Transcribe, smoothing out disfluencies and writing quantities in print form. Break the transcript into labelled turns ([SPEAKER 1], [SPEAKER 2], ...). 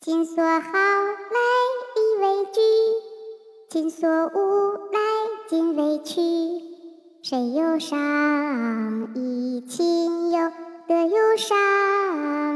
[SPEAKER 1] 亲所好来力为具，亲所恶来尽为去。谁有赏，贻亲忧，得有赏。